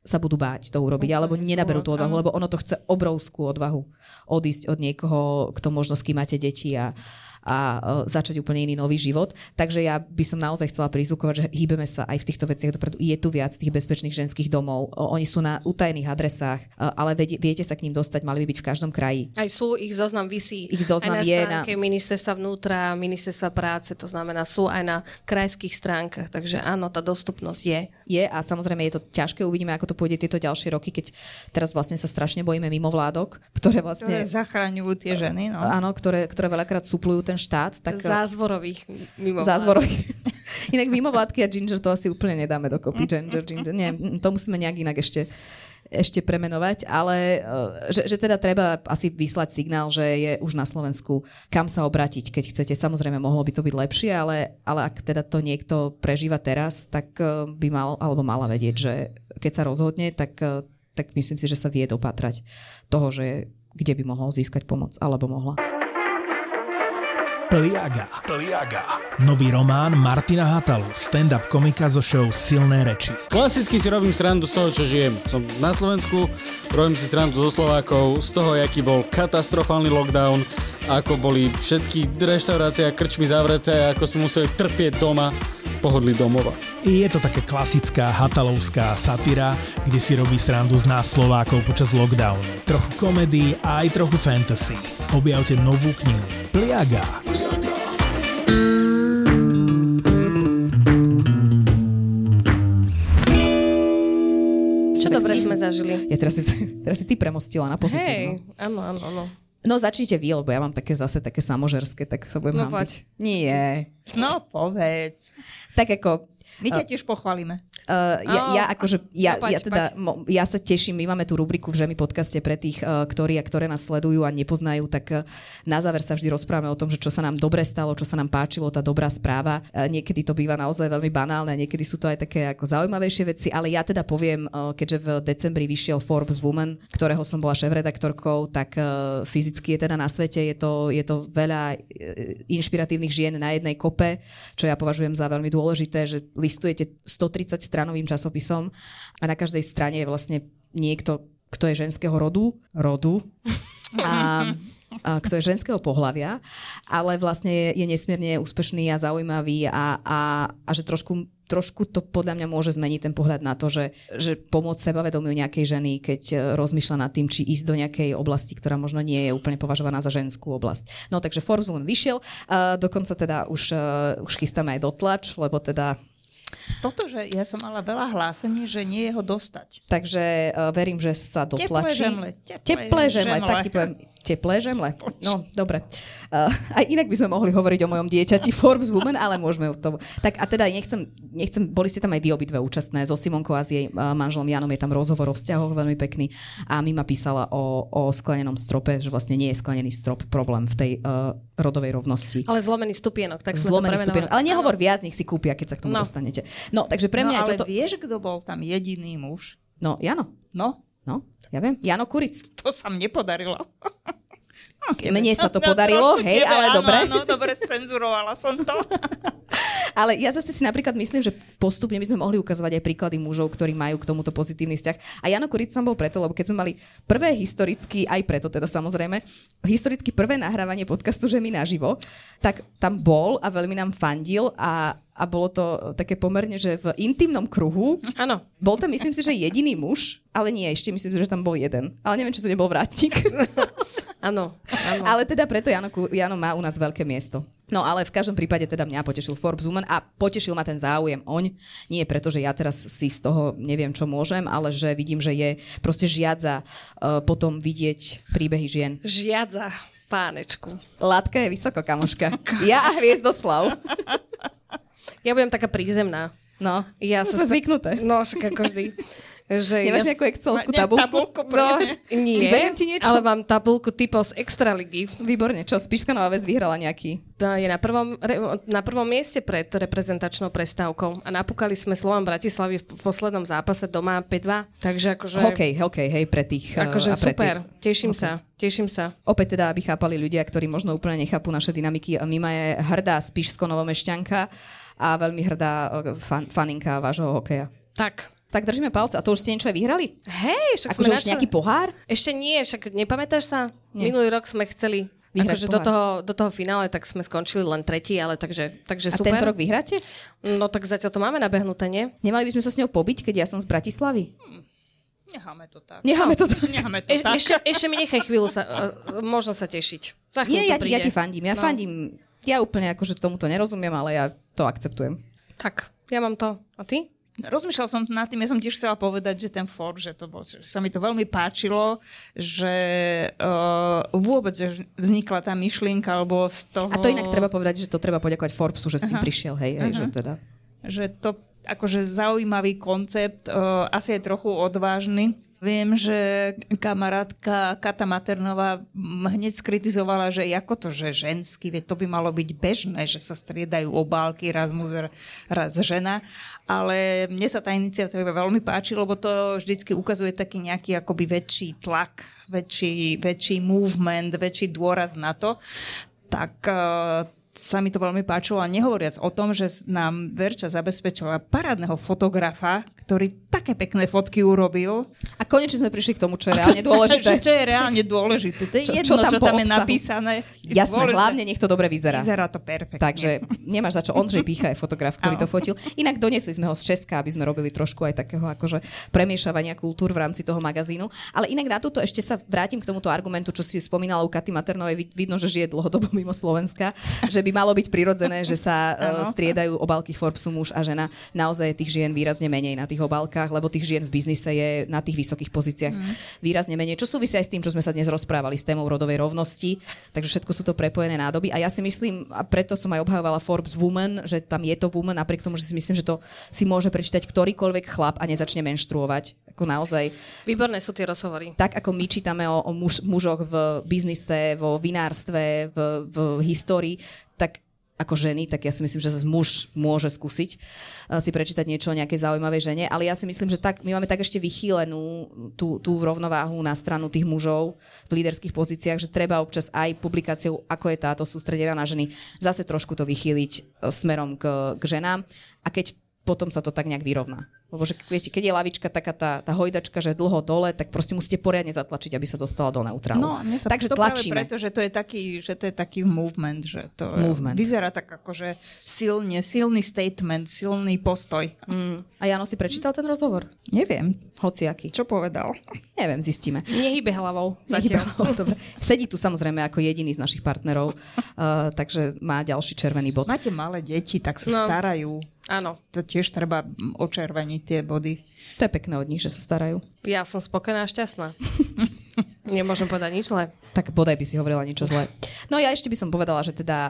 sa budú báť to urobiť, alebo nenaberú tú odvahu, lebo ono to chce obrovskú odvahu odísť od niekoho, kto možno s kým máte deti a začať úplne iný nový život. Takže ja by som naozaj chcela prizvukovať, že hýbeme sa aj v týchto veciach dopredu. Je tu viac tých bezpečných ženských domov. Oni sú na utajených adresách, ale viete sa k ním dostať, mali by byť v každom kraji. Aj sú, ich zoznam visí. Ich zoznam aj je na stránke ministerstva vnútra, ministerstva práce, to znamená sú aj na krajských stránkach. Takže áno, tá dostupnosť je. Je a samozrejme je to ťažké, uvidíme, ako to pôjde tieto ďalšie roky, keď teraz vlastne sa strašne bojíme mimovládok, ktoré vlastne zachraňujú tie ženy, no. Áno, ktoré veľakrát suplujú ten štát. Tak, zázvorových mimovládok. Zázvorových. Inak mimovládky a Ginger to asi úplne nedáme dokopy. Ginger. Nie, to musíme nejak inak ešte premenovať, ale že teda treba asi vyslať signál, že je už na Slovensku kam sa obrátiť, keď chcete. Samozrejme, mohlo by to byť lepšie, ale ak teda to niekto prežíva teraz, tak by mal alebo mala vedieť, že keď sa rozhodne, tak myslím si, že sa vie dopatrať toho, že kde by mohol získať pomoc, alebo mohla. Pliaga. Nový román Martina Hatalu, stand-up komika zo show Silné reči. Klasicky si robím srandu z toho, čo žijem. Som na Slovensku, robím si srandu zo Slovákov, z toho, aký bol katastrofálny lockdown, ako boli všetky reštaurácie a krčmy zavreté, ako sme museli trpieť doma, pohodlí domova. Je to také klasická hatalovská satyra, kde si robí srandu z nás Slovákov počas lockdownu. Trochu komedii a aj trochu fantasy. Objavte novú knihu Pliaga. Čo dobre sme zažili. Ja teraz si ty premostila na pozitívno. Hej, áno. No začnite vy, lebo ja mám také samožerské, tak sa budem hambiť. Nie. No povedz. Tak ako... My ťa tiež pochválime. Ja sa teším, my máme tú rubriku v Žemi podcaste pre tých, ktoré nás sledujú a nepoznajú, tak na záver sa vždy rozprávame o tom, že čo sa nám dobre stalo, čo sa nám páčilo, tá dobrá správa. Niekedy to býva naozaj veľmi banálne, niekedy sú to aj také ako zaujímavejšie veci, ale ja teda poviem, keďže v decembri vyšiel Forbes Woman, ktorého som bola šéfredaktorkou, tak fyzicky je teda na svete, je to veľa inšpiratívnych žien na jednej kope, čo ja považujem za veľmi dôležité, že listujete 130 stranovým časopisom a na každej strane je vlastne niekto, kto je ženského rodu a kto je ženského pohlavia, ale vlastne je nesmierne úspešný a zaujímavý a že trošku to podľa mňa môže zmeniť ten pohľad na to, že pomôcť sebavedomiu nejakej ženy, keď rozmýšľa nad tým, či ísť do nejakej oblasti, ktorá možno nie je úplne považovaná za ženskú oblasť. No takže Forbes Woman vyšiel, dokonca teda už chystáme aj dotlač, lebo teda Toto, že ja som mala veľa hlásení, že nie je ho dostať. Takže verím, že sa dotlačí. Teplé žemle. Tak ti poviem, teplé žemle. No, dobre. Aj inak by sme mohli hovoriť o mojom dieťati Forbes Woman, ale môžeme o tom. Tak a teda nechcem, boli ste tam aj vy obidve účastné. So Simonkou a s jej manželom Janom je tam rozhovor o vzťahoch veľmi pekný a Mima písala o sklenenom strope, že vlastne nie je sklenený strop problém v tej rodovej rovnosti. Ale zlomený stupienok, tak sme zlomený to stupienok. Ale nehovor viac, nech si kúpia, keď sa k tomu dostanete. No, takže pre mňa ale je toto... vieš, kto bol tam jediný muž? No, Jano. No, Ja viem. Jano Kuric. to sa mne podarilo. Mne sa to podarilo, hej, ale dobre. Áno, dobre, cenzurovala som to. Ale ja zase si napríklad myslím, že postupne by sme mohli ukazovať aj príklady mužov, ktorí majú k tomuto pozitívny vzťah. A Jano Kuric tam bol preto, lebo keď sme mali prvé historicky, aj preto teda samozrejme, historicky prvé nahrávanie podcastu Žemi naživo, tak tam bol a veľmi nám fandil a bolo to také pomerne, že v intimnom kruhu. Áno. Bol tam, myslím si, že jediný muž, ale nie, ešte myslím si, že tam bol jeden. Ale neviem, či to nebol vrátnik. Áno. Ale teda preto Jano má u nás veľké miesto. No ale v každom prípade teda mňa potešil Forbes Woman a potešil ma ten záujem oň. Nie preto, že ja teraz si z toho neviem, čo môžem, ale že vidím, že je proste žiadza potom vidieť príbehy žien. Žiadza, pánečku. Látka je vysoko, kamoška. Ja a Hviezdoslav. Ja budem taká prízemná. No, sme zvyknuté. No, však ako vždy. Že nemáš nejakú excelovskú tabulku? No, nie, vyberiem ti niečo? ale mám tabulku typov z Extraligy. Výborne, čo? Spišská Nová Ves vyhrala nejaký? Je na prvom mieste pred reprezentačnou prestávkou a napúkali sme Slovan Bratislavy v poslednom zápase doma 5-2, takže akože... Hokej, hej, pre tých... Akože super, teším sa. Opäť teda, aby chápali ľudia, ktorí možno úplne nechápu naše dynamiky. Mima je hrdá Spišsko-Novomešťanka a veľmi hrdá faninka vášho hokeja. Tak. Tak držíme palce. A to už ste niečo aj vyhrali? Hej, však Akože už nejaký pohár? Ešte nie, však nepamätáš sa? Nie. Minulý rok sme chceli Vyhrať akože do toho finále, tak sme skončili len tretí, ale takže A super. tento rok vyhráte? No tak zatiaľ to máme nabehnuté, nie? Nemali by sme sa s ňou pobiť, keď ja som z Bratislavy? Necháme to tak. Necháme to tak. Necháme to tak. Ešte mi nechaj chvíľu možno sa tešiť. Za chvíľu Nie, to ja príde. ti fandím. Ja úplne akože tomuto nerozumiem, ale ja to akceptujem. Tak, ja mám to. A ty? Rozmýšľal som nad tým, ja som tiež chcela povedať, že ten Forbes, že sa mi to veľmi páčilo, že vôbec že vznikla tá myšlienka, alebo z toho... A to inak treba povedať, že to treba poďakovať Forbesu, že s tým prišiel, hej, že teda... Že to akože zaujímavý koncept, asi je trochu odvážny. Viem, že kamarátka Kata Maternová hneď skritizovala, že ako to, že ženský, veď to by malo byť bežné, že sa striedajú obálky, raz muž, raz žena. Ale mne sa tá iniciatíva veľmi páči, lebo to vždycky ukazuje taký nejaký akoby väčší tlak, väčší movement, väčší dôraz na to. Tak sa mi to veľmi páčilo a nehovoriac o tom, že nám Verča zabezpečila parádneho fotografa, ktorý také pekné fotky urobil. A konečne sme prišli k tomu, čo je reálne dôležité. Čo je reálne dôležité. To je jedno, čo tam je napísané. Jasné, hlavne nech to dobre vyzerá. Vyzerá to perfektne. Takže nemáš za čo. Ondřej Pícha je fotograf, ktorý to fotil. Inak doniesli sme ho z Česka, aby sme robili trošku aj takého akože premiešavania kultúr v rámci toho magazínu. Ale inak na túto ešte sa vrátim k tomuto argumentu, čo si spomínala u Katy Maternovej. Vidno, že žije dlhodobo mimo Slovenska, že by malo byť prirodzené, že sa striedajú obálky Forbesu muž a žena. Naozaj je tých žien výrazne menej na tých obálkach, lebo tých žien v biznise je na tých vysokých pozíciách výrazne menej. Čo súvisí aj s tým, čo sme sa dnes rozprávali s témou rodovej rovnosti. Takže všetko sú to prepojené nádoby. A ja si myslím, a preto som aj obhajovala Forbes Woman, že tam je to woman, napriek tomu, že si myslím, že to si môže prečítať ktorýkoľvek chlap a nezačne menštruovať. Ako naozaj. Výborné sú tie rozhovory. Tak ako my čítame o mužoch v biznise, vo vinárstve, v histórii, tak ako ženy, tak ja si myslím, že zase muž môže skúsiť si prečítať niečo o nejakej zaujímavej žene, ale ja si myslím, že tak, my máme tak ešte vychýlenú tú rovnováhu na stranu tých mužov v líderských pozíciách, že treba občas aj publikáciou, ako je táto sústredená na ženy, zase trošku to vychýliť smerom k ženám a keď potom sa to tak nejak vyrovná. Lebo že viete, keď je lavička taká tá hojdačka, že dlho dole, tak proste musíte poriadne zatlačiť, aby sa dostala do neutrálu. No, takže to tlačíme. Práve preto, že to je taký movement, že to vyzerá tak akože silný statement, silný postoj. A Jano si prečítal ten rozhovor? Neviem. Hociaký. Čo povedal? Neviem, zistíme. Nehybe hlavou zatiaľ. Dobre. Sedí tu samozrejme ako jediný z našich partnerov, takže má ďalší červený bod. Máte malé deti, tak sa starajú. Áno. To tiež treba očerveniť tie body. To je pekné od nich, že sa starajú. Ja som spokojná a šťastná. Nemôžem povedať nič zlé. Tak bodaj by si hovorila niečo zlé. No ja ešte by som povedala, že teda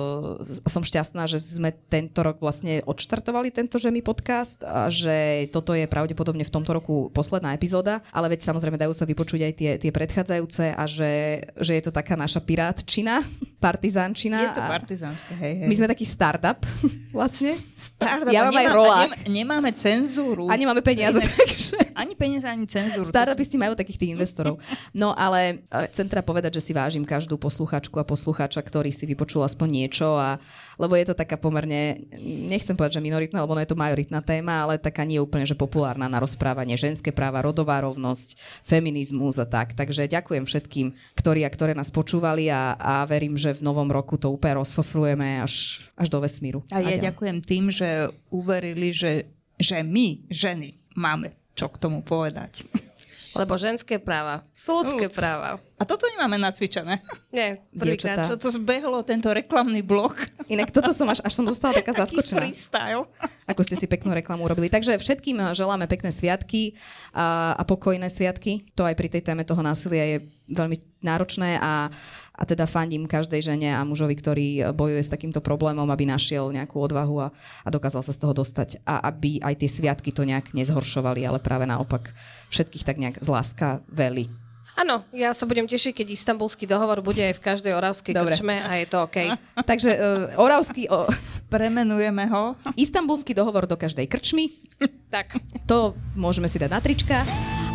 som šťastná, že sme tento rok vlastne odštartovali tento Žemi podcast a že toto je pravdepodobne v tomto roku posledná epizóda, ale veď samozrejme dajú sa vypočuť aj tie predchádzajúce a že je to taká naša pirátčina, partizánčina. Je to partizánske, hej. My sme taký startup vlastne. Startup. Ja mám aj rolák. Nemáme cenzúru. A nemáme peniaze, takže... Ani peniaze, ani cenzúru. Startupisti majú takých tých investorov. No ale chcem teda povedať, že si vážim každú posluchačku a poslucháča, ktorý si vypočul aspoň niečo, lebo je to taká pomerne, nechcem povedať, že minoritná, lebo je to majoritná téma, ale taká nie úplne, že populárna na rozprávanie, ženské práva, rodová rovnosť, feminizmus a tak. Takže ďakujem všetkým, ktorí a ktoré nás počúvali a verím, že v novom roku to úplne rozfofrujeme až do vesmíru. A ja ďakujem tým, že uverili, že my, ženy, máme čo k tomu povedať. Lebo ženské práva sú ľudské práva. A toto nemáme nacvičené. Nie, prvýkrát. Toto zbehlo, tento reklamný blok. Inak toto som až som dostala taká zaskočená. Taký freestyle. Ako ste si peknú reklamu urobili. Takže všetkým želáme pekné sviatky a pokojné sviatky. To aj pri tej téme toho násilia je veľmi náročné a teda fandím každej žene a mužovi, ktorý bojuje s takýmto problémom, aby našiel nejakú odvahu a dokázal sa z toho dostať. A aby aj tie sviatky to nejak nezhoršovali, ale práve naopak všetkých tak nejak zláskaveli. Áno, ja sa budem tešiť, keď Istanbulský dohovor bude aj v každej oravskej krčme a je to OK. Takže oravský... Premenujeme ho. Istanbulský dohovor do každej krčmy. Tak. To môžeme si dať na trička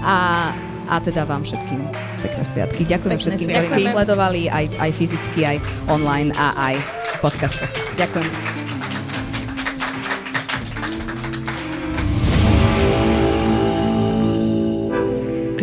a teda vám všetkým pekné sviatky. Ďakujem všetkým, ktorí nás sledovali aj fyzicky, aj online a aj v podcastoch. Ďakujem.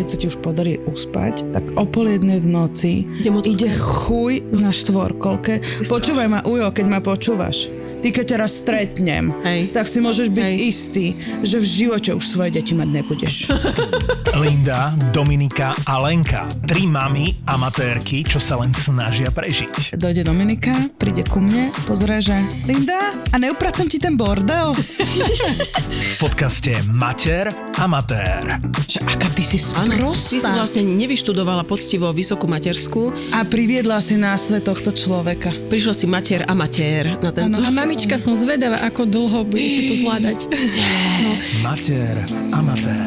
keď sa ti už podarí uspať, tak o 12:30 v noci ide chuj na štvorkolke. Počúvaj ma, Ujo, keď ma počúvaš. Ty keď ťa raz stretnem, tak si môžeš byť istý, že v živote už svoje deti mať nebudeš. Linda, Dominika a Lenka. 3 mami amatérky, čo sa len snažia prežiť. Dojde Dominika, príde ku mne, pozrie, že Linda, a neupracem ti ten bordel? V podcaste Mater Amatér. Že aká ty si sprostá. Ty si vlastne nevyštudovala poctivo vysokú materskú. A priviedla si na svet tohto človeka. Prišla si mater amatér na ten. A mamička, som zvedavá, ako dlho budete to zvládať. Mater Amatér.